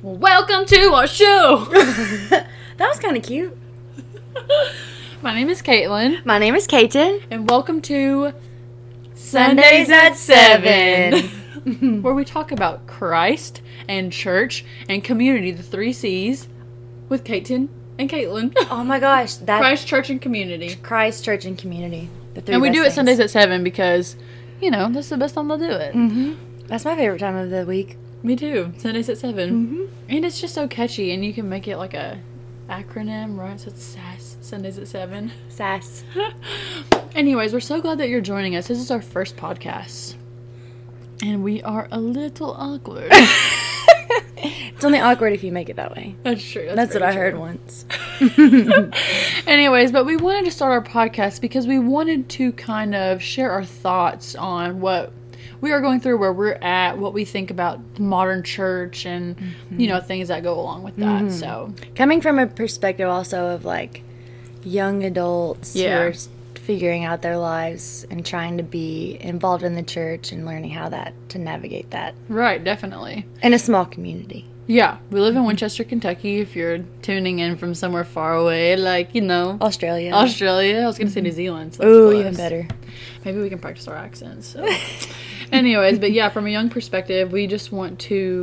Welcome to our show! That was kind of cute. My name is Caitlin. My name is Kaiten. And welcome to Sundays at 7. Where we talk about Christ and church and community, the 3 C's, with Caitlin and Caitlin. Oh my gosh. Christ, church, and community. Christ, church, and community. The 3 And we best do it things. Sundays at 7 because, that's the best time to do it. Mm-hmm. That's my favorite time of the week. Me too. Sundays at 7. Mm-hmm. And it's just so catchy, and you can make it like a acronym, right? So it's SAS, Sundays at 7. Sass. Anyways, we're so glad that you're joining us. This is our first podcast. And we are a little awkward. It's only awkward if you make it that way. That's true. That's what I very heard true. once. Anyways, but we wanted to start our podcast because we wanted to kind of share our thoughts on what we are going through, where we're at, what we think about the modern church, and, things that go along with that. Mm-hmm. So, Coming from a perspective also of like young adults who are figuring out their lives and trying to be involved in the church and learning how to navigate that right, definitely. in a small community. Yeah, we live in Winchester, Kentucky. If you're tuning in from somewhere far away, like, Australia. Australia. I was going to say New Zealand. So Ooh, that's even close. better. Maybe we can practice our accents. So. Anyways, but yeah, from a young perspective, we just want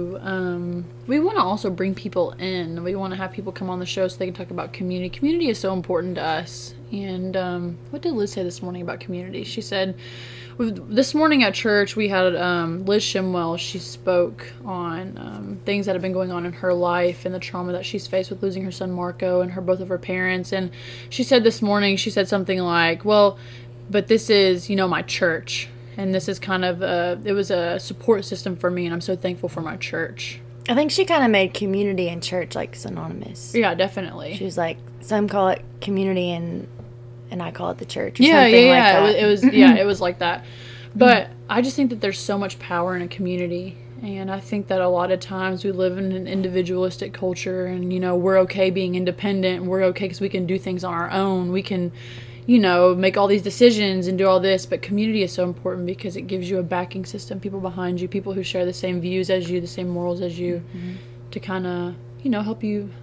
to, we want to also bring people in. We want to have people come on the show so they can talk about community. Community is so important to us. And what did Liz say this morning about community? She said, this morning at church, we had Liz Shimwell. She spoke on things that have been going on in her life and the trauma that she's faced with losing her son Marco and both of her parents. And she said this morning, she said something like, well, but this is, my church. And this is kind of, it was a support system for me, and I'm so thankful for my church. I think she kind of made community and church like synonymous. Yeah, definitely. She was like, some call it community and I call it the church. Or Yeah. Like that. It was it was like that. But I just think that there's so much power in a community. And I think that a lot of times we live in an individualistic culture, and, we're okay being independent, and we're okay because we can do things on our own. We can, make all these decisions and do all this. But community is so important because it gives you a backing system, people behind you, people who share the same views as you, the same morals as you, to kind of, help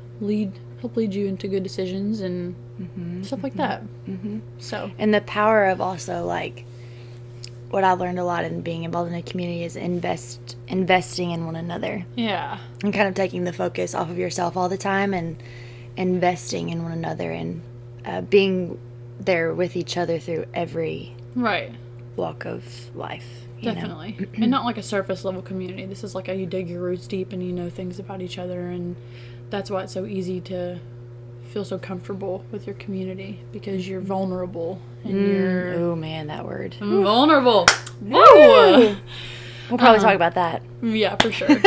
lead you into good decisions and stuff like that. So, And the power of also like what I learned a lot in being involved in a community is investing in one another. yeah. And kind of taking the focus off of yourself all the time and investing in one another and being there with each other through every Right. walk of life. Definitely. And not like a surface level community. This is like you dig your roots deep and you know things about each other, and that's why it's so easy to feel so comfortable with your community, because you're vulnerable and you're Oh man, that word. vulnerable. Woo! We'll probably talk about that. Yeah, for sure.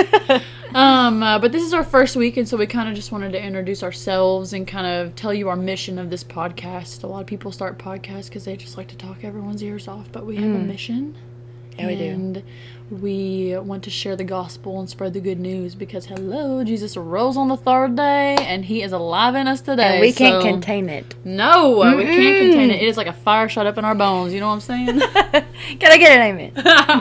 But this is our first week, and so we kind of just wanted to introduce ourselves and kind of tell you our mission of this podcast. A lot of people start podcasts because they just like to talk everyone's ears off, but we have a mission. Yeah, we do. And we want to share the gospel and spread the good news because, hello, Jesus rose on the 3rd day, and he is alive in us today. And we can't contain it. No, we can't contain it. It is like a fire shot up in our bones. You know what I'm saying? Can I get an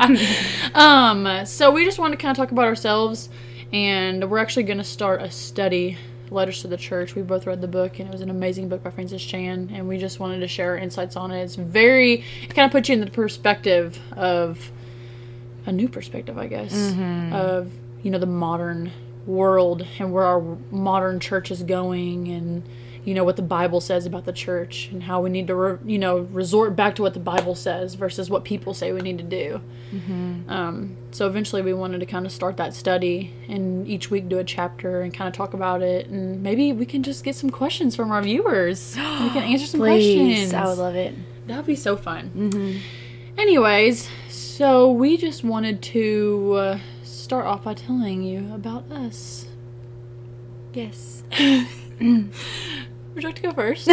amen? So we just want to kind of talk about ourselves, and we're actually going to start a study, Letters to the Church. We both read the book, and it was an amazing book by Francis Chan, and we just wanted to share our insights on it. It kind of puts you in the perspective of a new perspective, I guess, of, the modern world and where our modern church is going, and, what the Bible says about the church and how we need to, resort back to what the Bible says versus what people say we need to do. So eventually we wanted to kind of start that study and each week do a chapter and kind of talk about it, and maybe we can just get some questions from our viewers. We can answer some questions. I would love it. That would be so fun. Anyways, so we just wanted to start off by telling you about us. Yes. Would you like to go first?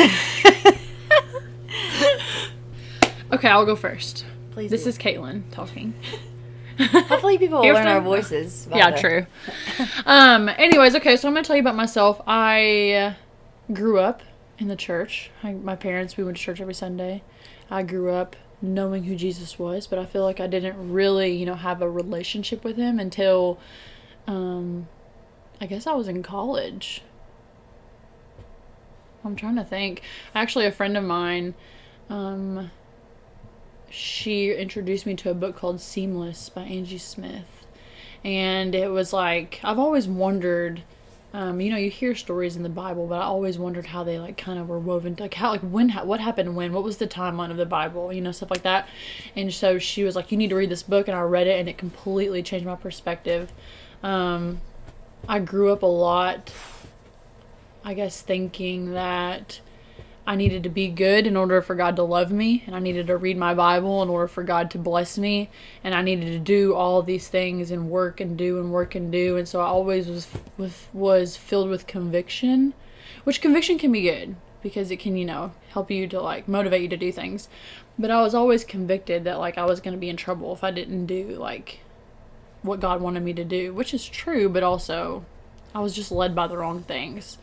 Okay, I'll go first. Please. This is Caitlin talking. Hopefully people will Here's learn the- our voices. Yeah, true. Anyways, okay, so I'm going to tell you about myself. I grew up in the church. My parents, we went to church every Sunday. I grew up knowing who Jesus was, but I feel like I didn't really, have a relationship with him until I guess I was in college. I'm trying to think. Actually, a friend of mine, she introduced me to a book called Seamless by Angie Smith. And it was like, I've always wondered, you hear stories in the Bible, but I always wondered how they like kind of were woven, like how, like when, what happened when, what was the timeline of the Bible, stuff like that. And so she was like, you need to read this book, and I read it, and it completely changed my perspective. I grew up a lot, I guess, thinking that I needed to be good in order for God to love me, and I needed to read my Bible in order for God to bless me, and I needed to do all of these things and work and do and work and do. And so I always was filled with conviction, which conviction can be good because it can, help you to like motivate you to do things. But I was always convicted that like I was going to be in trouble if I didn't do like what God wanted me to do, which is true, but also I was just led by the wrong things.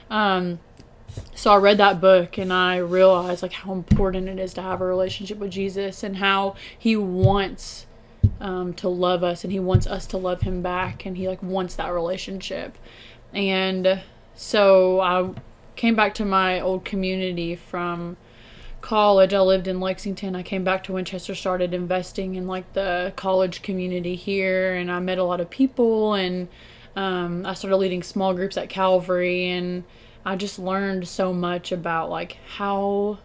So I read that book, and I realized like how important it is to have a relationship with Jesus, and how he wants to love us, and he wants us to love him back, and he like wants that relationship. And so I came back to my old community from college. I lived in Lexington. I came back to Winchester, started investing in like the college community here, and I met a lot of people, and I started leading small groups at Calvary, and I just learned so much about like how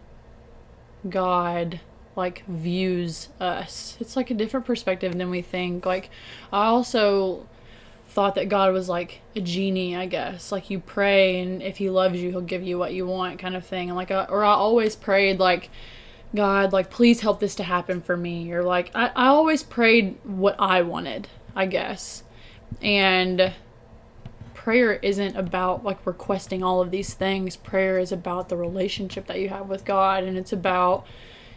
God like views us. It's like a different perspective than we think. Like I also thought that God was like a genie, I guess. Like you pray, and if he loves you, he'll give you what you want, kind of thing. And like I always prayed like, God, like please help this to happen for me, or like I always prayed what I wanted, I guess. And prayer isn't about like requesting all of these things. Prayer is about the relationship that you have with God, and it's about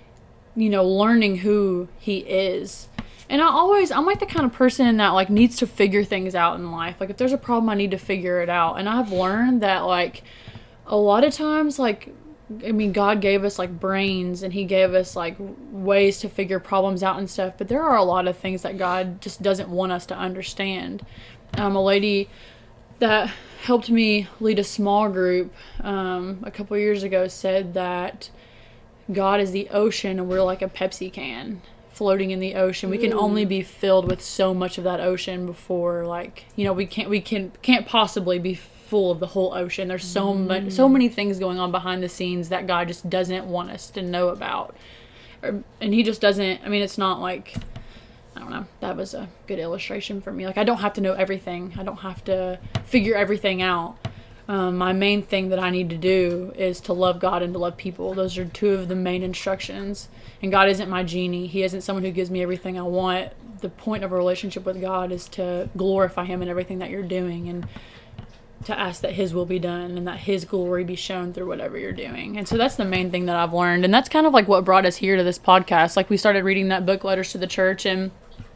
learning who he is. And I'm like the kind of person that like needs to figure things out in life. Like if there's a problem, I need to figure it out. And I've learned that like a lot of times, like God gave us like brains, and he gave us like ways to figure problems out and stuff, but there are a lot of things that God just doesn't want us to understand. A lady that helped me lead a small group a couple years ago said that God is the ocean, and we're like a Pepsi can floating in the ocean. We can only be filled with so much of that ocean before like we can't possibly be full of the whole ocean. There's so many things going on behind the scenes that God just doesn't want us to know about, and he just doesn't. It's not like, I don't know. That was a good illustration for me. Like, I don't have to know everything. I don't have to figure everything out. My main thing that I need to do is to love God and to love people. Those are two of the main instructions. And God isn't my genie. He isn't someone who gives me everything I want. The point of a relationship with God is to glorify him in everything that you're doing, and to ask that his will be done, and that his glory be shown through whatever you're doing. And so that's the main thing that I've learned. And that's kind of like what brought us here to this podcast. Like we started reading that book, Letters to the Church, and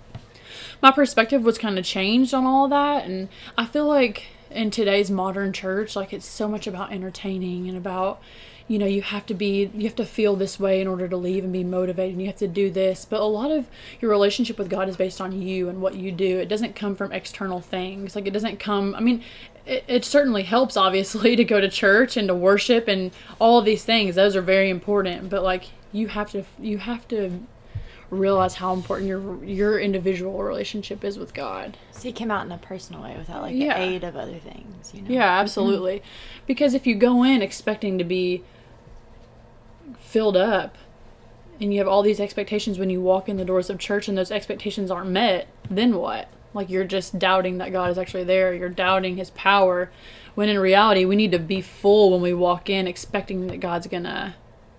my perspective was kind of changed on all of that. And I feel like in today's modern church, like it's so much about entertaining and about, you have to feel this way in order to leave and be motivated, and you have to do this. But a lot of your relationship with God is based on you and what you do. It doesn't come from external things. Like it doesn't come, it certainly helps obviously to go to church and to worship and all of these things. Those are very important, but like you have to realize how important your individual relationship is with God. So you came out in a personal way without like the aid of other things, Yeah, absolutely. Mm-hmm. Because if you go in expecting to be filled up, and you have all these expectations when you walk in the doors of church, and those expectations aren't met, then what? Like you're just doubting that God is actually there. You're doubting his power, when in reality we need to be full when we walk in, expecting that God's gonna,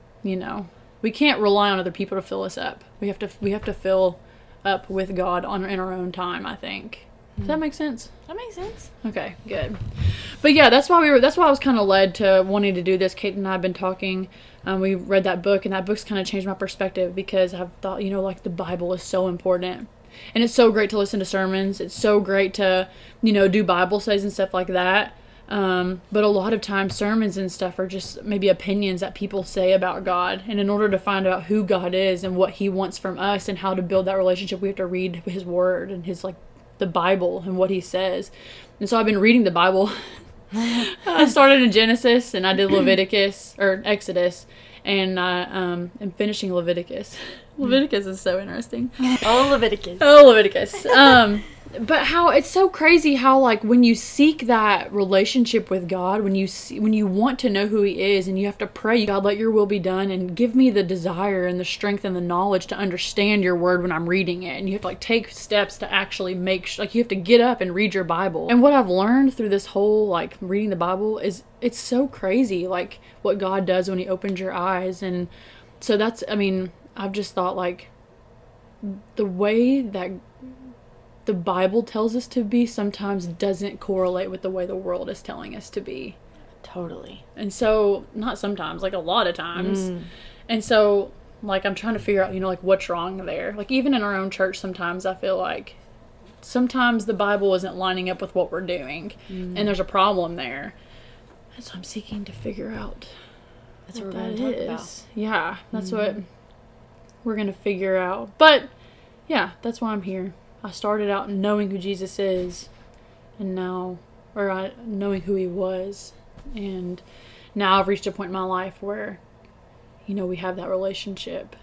we can't rely on other people to fill us up. We have to fill up with God in our own time, I think. Does that make sense? That makes sense. Okay, good. But yeah, that's why I was kind of led to wanting to do this. Kate and I have been talking. We read that book, and that book's kind of changed my perspective, because I've thought, like the Bible is so important. And it's so great to listen to sermons. It's so great to, do Bible studies and stuff like that. But a lot of times sermons and stuff are just maybe opinions that people say about God. And in order to find out who God is and what he wants from us and how to build that relationship, we have to read his word and his like the Bible and what he says. And so I've been reading the Bible. I started in Genesis and I did Leviticus or Exodus, and I am finishing Leviticus. Leviticus is so interesting. Oh, Leviticus. Oh, Leviticus. But how it's so crazy how, like, when you seek that relationship with God, when you want to know who he is, and you have to pray, God, let your will be done, and give me the desire and the strength and the knowledge to understand your word when I'm reading it. And you have to, like, take steps to actually like, you have to get up and read your Bible. And what I've learned through this whole, like, reading the Bible is it's so crazy, like, what God does when he opens your eyes. And so I've just thought, like, the way that the Bible tells us to be sometimes doesn't correlate with the way the world is telling us to be. Totally. And so, not sometimes, like a lot of times. And so, like, I'm trying to figure out, like, what's wrong there. Like, even in our own church, sometimes I feel like sometimes the Bible isn't lining up with what we're doing. And there's a problem there. And so I'm seeking to figure out that's what we're going to talk about. Yeah, that's what we're going to figure out. But, yeah, that's why I'm here. I started out knowing who Jesus is, and now, knowing who he was, and now I've reached a point in my life where, we have that relationship,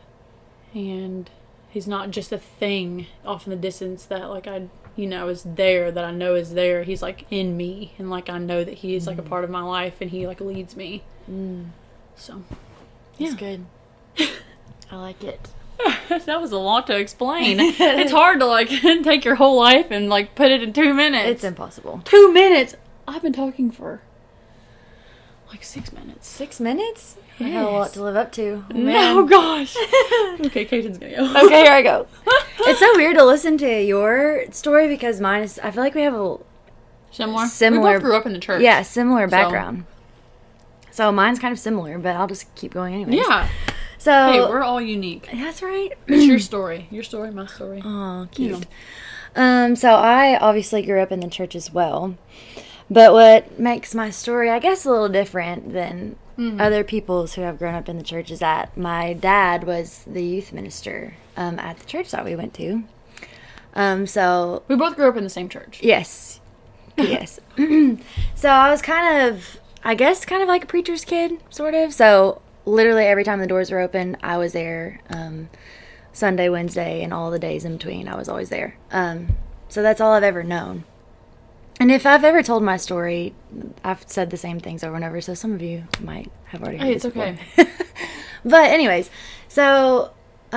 and he's not just a thing off in the distance that, like, is there, that I know is there. He's, like, in me, and, like, I know that he is, like, a part of my life, and he, like, leads me. So, yeah. That's good. I like it. That was a lot to explain. It's hard to, like, take your whole life and, like, put it in 2 minutes. It's impossible. 2 minutes? I've been talking for, like, 6 minutes. 6 minutes? Yes. I have a lot to live up to. Oh, no, gosh. Okay, Kaiten's gonna go. Okay, here I go. It's so weird to listen to your story because mine is, I feel like we have a Similar. We both grew up in the church. Yeah, similar background. So mine's kind of similar, but I'll just keep going anyways. Yeah. So, hey, we're all unique. That's right. It's your story. Your story, my story. Oh, cute. So I obviously grew up in the church as well. But what makes my story, I guess, a little different than other people's who have grown up in the church is that my dad was the youth minister at the church that we went to. So we both grew up in the same church. Yes. Yes. So I was kind of like a preacher's kid, sort of. So literally every time the doors were open, I was there. Sunday, Wednesday, and all the days in between, I was always there. So that's all I've ever known. And if I've ever told my story, I've said the same things over and over, so some of you might have already heard it's okay. But anyways, so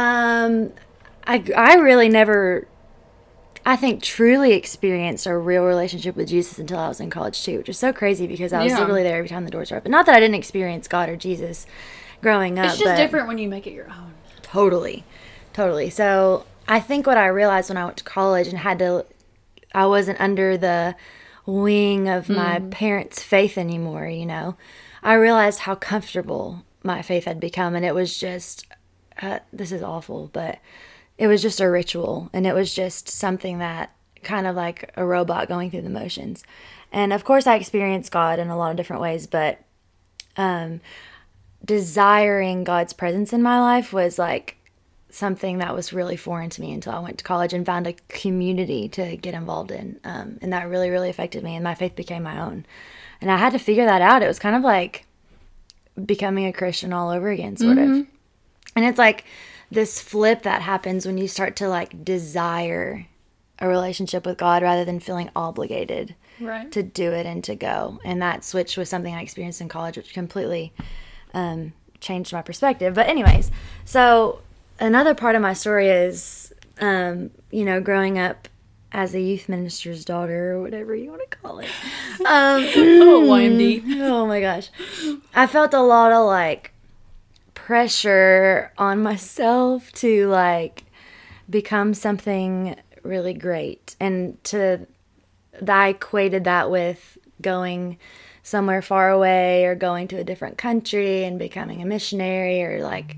I really never, I think, truly experienced a real relationship with Jesus until I was in college too, which is so crazy because I was literally there every time the doors were open. Not that I didn't experience God or Jesus growing up. It's just different when you make it your own. Totally. So I think what I realized when I went to college and I wasn't under the wing of my parents' faith anymore, I realized how comfortable my faith had become, and it was just, this is awful, but it was just a ritual, and it was just something that kind of like a robot going through the motions. And of course I experienced God in a lot of different ways, but desiring God's presence in my life was like something that was really foreign to me until I went to college and found a community to get involved in. And that really, really affected me, and my faith became my own. And I had to figure that out. It was kind of like becoming a Christian all over again, sort of. And it's like this flip that happens when you start to like desire a relationship with God rather than feeling obligated to do it and to go. And that switch was something I experienced in college, which completely changed my perspective. But anyways, so another part of my story is, growing up as a youth minister's daughter, or whatever you want to call it. YMD. Oh my gosh. I felt a lot of like pressure on myself to like become something really great. And I equated that with going somewhere far away or going to a different country and becoming a missionary, or like,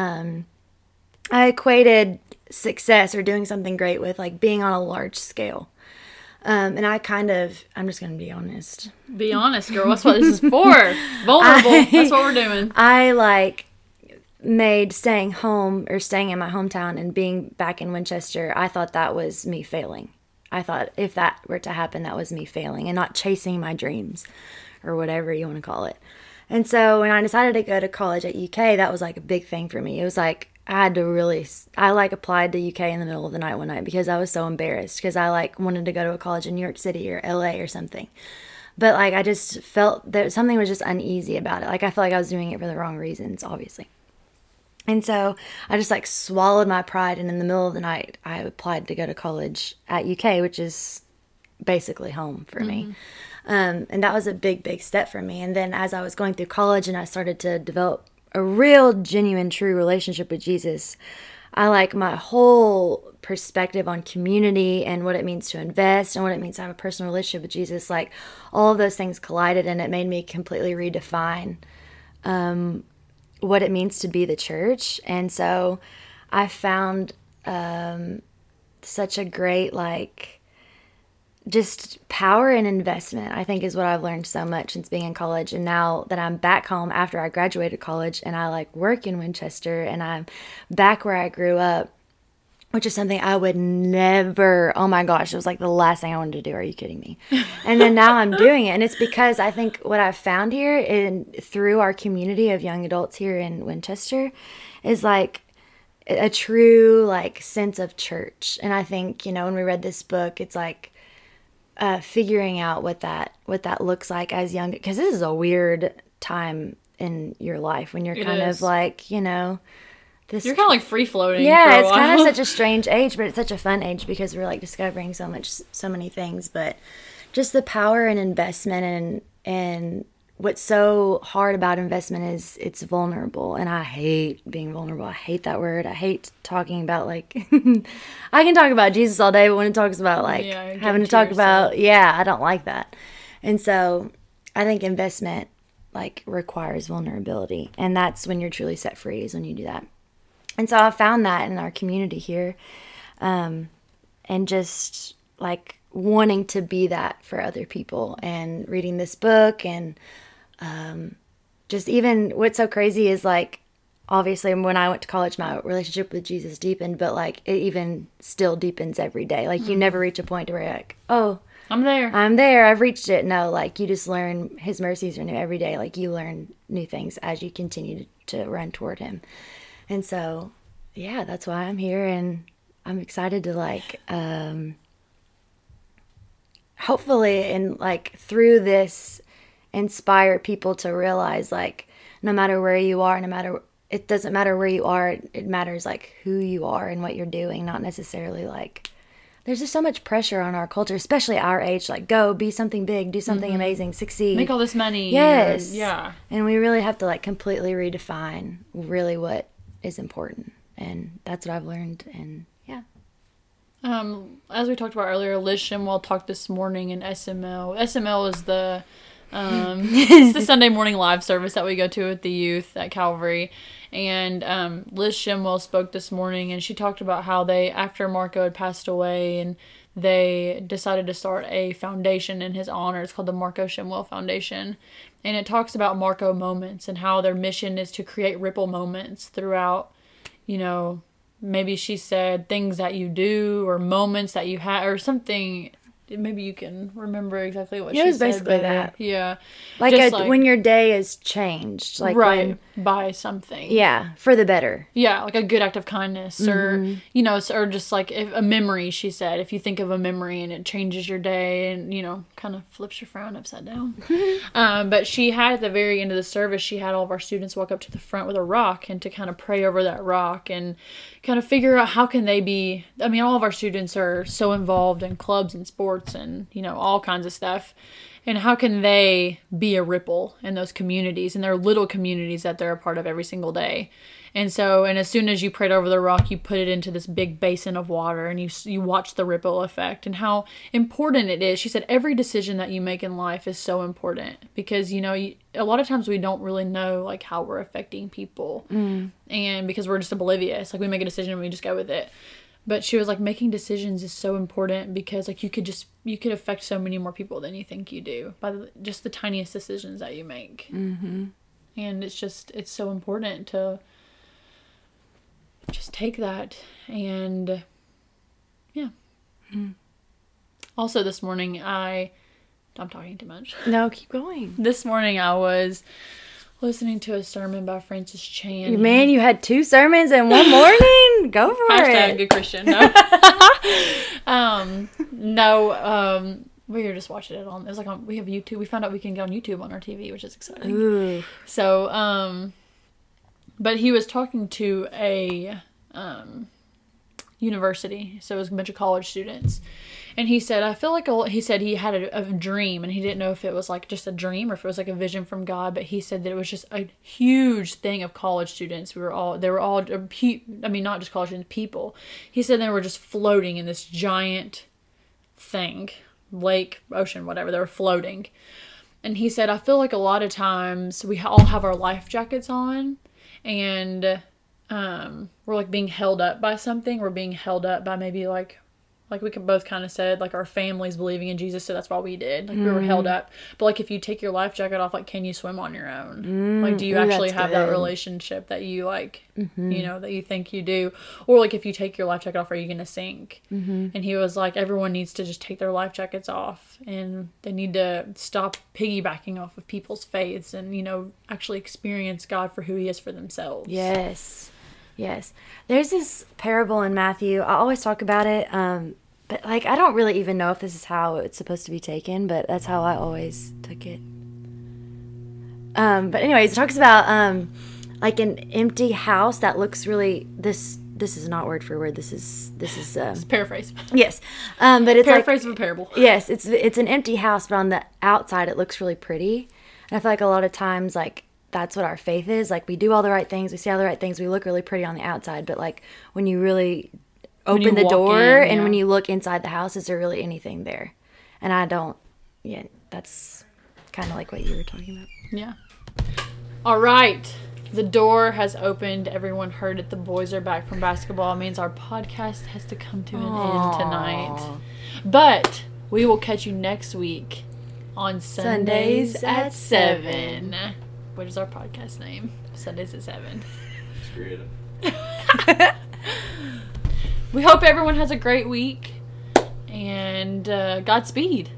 I equated success or doing something great with like being on a large scale. And I'm just going to be honest. Be honest, girl. That's what this is for. Vulnerable. That's what we're doing. I like made staying in my hometown and being back in Winchester, I thought that was me failing. I thought if that were to happen, that was me failing and not chasing my dreams or whatever you want to call it. And so when I decided to go to college at UK, that was like a big thing for me. It was like I had to really, I like applied to UK in the middle of the night one night because I was so embarrassed because I like wanted to go to a college in New York City or LA or something. But like I just felt that something was just uneasy about it. Like I felt like I was doing it for the wrong reasons, obviously. And so I just like swallowed my pride, and in the middle of the night I applied to go to college at UK, which is basically home for me. And that was a big, big step for me. And then as I was going through college and I started to develop a real, genuine, true relationship with Jesus, I like my whole perspective on community and what it means to invest and what it means to have a personal relationship with Jesus, like all of those things collided, and it made me completely redefine what it means to be the church. And so I found such a great, like, just power and investment, I think, is what I've learned so much since being in college. And now that I'm back home after I graduated college and I like work in Winchester and I'm back where I grew up, which is something I would never, oh my gosh, it was like the last thing I wanted to do. Are you kidding me? And then now I'm doing it. And it's because I think what I've found here through our community of young adults here in Winchester is like a true like sense of church. And I think, you know, when we read this book, it's like, figuring out what that looks like as young, because this is a weird time in your life when you're kind of like, you know, this, you're kind of like free floating. Yeah, it's kind of such a strange age, but it's such a fun age because we're like discovering so many things. But just the power and investment and what's so hard about investment is it's vulnerable, and I hate being vulnerable. I hate that word. I hate talking about like I can talk about Jesus all day, but when it talks about like having to talk about I don't like that. And so I think investment like requires vulnerability, and that's when you're truly set free, is when you do that. And so I found that in our community here, and just like wanting to be that for other people, and reading this book, and just even what's so crazy is like, obviously when I went to college, my relationship with Jesus deepened, but like it even still deepens every day. Like you never reach a point where you're like, oh, I'm there, I've reached it. No, like you just learn his mercies are new every day. Like you learn new things as you continue to run toward him. And so, yeah, that's why I'm here, and I'm excited to like, hopefully, and like through this, inspire people to realize like no matter where you are, it doesn't matter where you are, it matters like who you are and what you're doing, not necessarily like, there's just so much pressure on our culture, especially our age, like go be something big, do something amazing, succeed, make all this money. Yes. Yeah. And we really have to like completely redefine really what is important, and that's what I've learned. And as we talked about earlier, Liz Shimwell talked this morning in SML. SML is the it's the Sunday morning live service that we go to with the youth at Calvary. And Liz Shimwell spoke this morning, and she talked about how they, after Marco had passed away, and they decided to start a foundation in his honor. It's called the Marco Shimwell Foundation. And it talks about Marco moments and how their mission is to create ripple moments throughout, you know, maybe she said things that you do or moments that you have or something. Maybe you can remember exactly what she said. It was basically that. Yeah. Like, when your day is changed. Like right. By something. Yeah. For the better. Yeah. Like a good act of kindness or, you know, or just like a memory, she said. If you think of a memory and it changes your day and, you know, kind of flips your frown upside down. But she had at the very end of the service, she had all of our students walk up to the front with a rock and to kind of pray over that rock and kind of figure out how can they be, I mean, all of our students are so involved in clubs and sports and, you know, all kinds of stuff. And how can they be a ripple in those communities, in their little communities that they're a part of every single day? And so, and as soon as you prayed over the rock, you put it into this big basin of water and you watch the ripple effect and how important it is. She said every decision that you make in life is so important because, you know, a lot of times we don't really know like how we're affecting people and because we're just oblivious, like we make a decision and we just go with it. But she was like, making decisions is so important because like you could affect so many more people than you think you do by just the tiniest decisions that you make. And it's so important to just take that and Also, this morning I'm talking too much. No, keep going. This morning I was listening to a sermon by Francis Chan. Man, you had 2 sermons in one morning? Go for Hashtag it. good Christian. No. We were just watching it on. It was like we have YouTube. We found out we can get on YouTube on our TV, which is exciting. Ooh. So, but he was talking to a university, so it was a bunch of college students, and he said, he said he had a dream, and he didn't know if it was like just a dream or if it was like a vision from God, but he said that it was just a huge thing of college students. They were all, I mean, not just college students, people. He said they were just floating in this giant thing, lake, ocean, whatever. They were floating. And he said, I feel like a lot of times we all have our life jackets on, and we're like being held up by something. We're being held up by maybe like we could both kind of said, like, our families believing in Jesus, so that's why we did. Like, we were held up. But, like, if you take your life jacket off, like, can you swim on your own? Like, do you actually have that relationship that you, like, you know, that you think you do? Or, like, if you take your life jacket off, are you going to sink? And he was like, everyone needs to just take their life jackets off, and they need to stop piggybacking off of people's faiths and, you know, actually experience God for who he is for themselves. Yes. There's this parable in Matthew. I always talk about it, but like I don't really even know if this is how it's supposed to be taken, but that's how I always took it. But anyways, it talks about like an empty house that looks really this is not word for word. This is It's paraphrase. Yes, but it's paraphrase of a parable. Yes, it's an empty house, but on the outside it looks really pretty. And I feel like a lot of times like that's what our faith is. Like, we do all the right things, we say all the right things, we look really pretty on the outside, but like when you really open the door and when you look inside the house, is there really anything there? And that's kind of like what you were talking about. Yeah. All right. The door has opened. Everyone heard it. The boys are back from basketball. It means our podcast has to come to an end tonight. But we will catch you next week on Sundays at 7. What is our podcast name? Sundays at 7. It's creative. We hope everyone has a great week, and Godspeed.